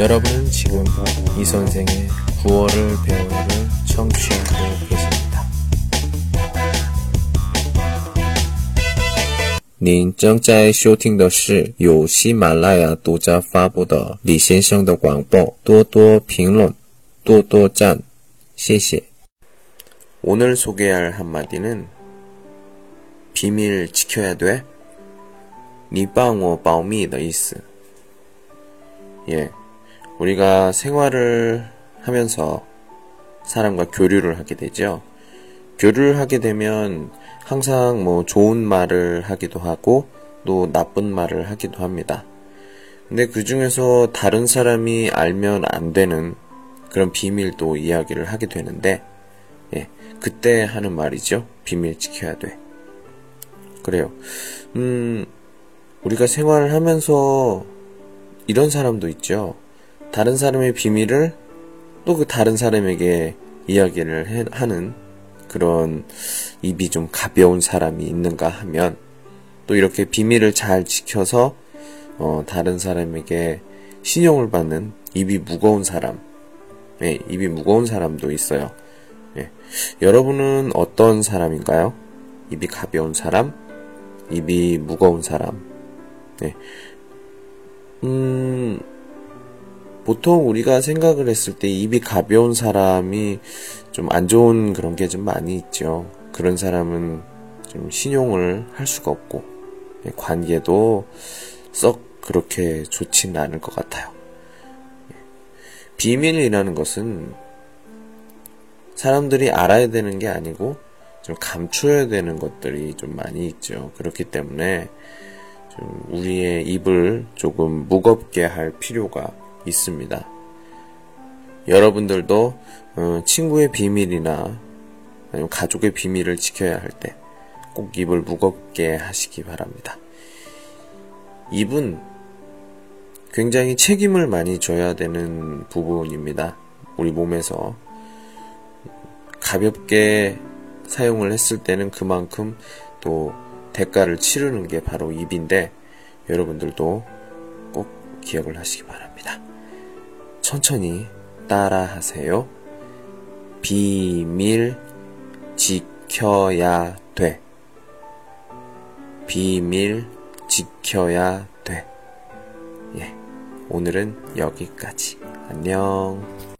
여러분은 지금 이 선생의 구월을 배우를 청취하고 계십니다. 您正在收听的是由喜马拉雅独家发布的李先生的广播，多多评论，多多赞，谢谢。 오늘 소개할 한마디는 비밀 지켜야 돼? 你帮我保密的意思。 예, 우리가 생활을 하면서 사람과 교류를 하게 되죠. 교류를 하게 되면 항상 좋은 말을 하기도 하고 또 나쁜 말을 하기도 합니다. 근데 그 중에서 다른 사람이 알면 안 되는 그런 비밀도 이야기를 하게 되는데, 예, 그때 하는 말이죠. 비밀 지켜야 돼. 그래요. 우리가 생활을 하면서 이런 사람도 있죠. 다른 사람의 비밀을 또 그 다른 사람에게 이야기를 하는 그런 입이 좀 가벼운 사람이 있는가 하면, 또 이렇게 비밀을 잘 지켜서 다른 사람에게 신용을 받는 입이 무거운 사람, 예, 입이 무거운 사람도 있어요. 예. 여러분은 어떤 사람인가요? 입이 가벼운 사람? 입이 무거운 사람? 예. 보통 우리가 생각을 했을 때 입이 가벼운 사람이 좀 안 좋은 그런 게 좀 많이 있죠. 그런 사람은 좀 신용을 할 수가 없고, 관계도 썩 그렇게 좋지는 않을 것 같아요. 비밀이라는 것은 사람들이 알아야 되는 게 아니고 좀 감춰야 되는 것들이 좀 많이 있죠. 그렇기 때문에 좀 우리의 입을 조금 무겁게 할 필요가 있습니다. 여러분들도 친구의 비밀이나 아니면 가족의 비밀을 지켜야 할 때 꼭 입을 무겁게 하시기 바랍니다. 입은 굉장히 책임을 많이 져야 되는 부분입니다. 우리 몸에서 가볍게 사용을 했을 때는 그만큼 또 대가를 치르는 게 바로 입인데, 여러분들도 꼭 기억을 하시기 바랍니다. 천천히 따라 하세요. 비밀 지켜야 돼. 비밀 지켜야 돼. 예, 오늘은 여기까지. 안녕.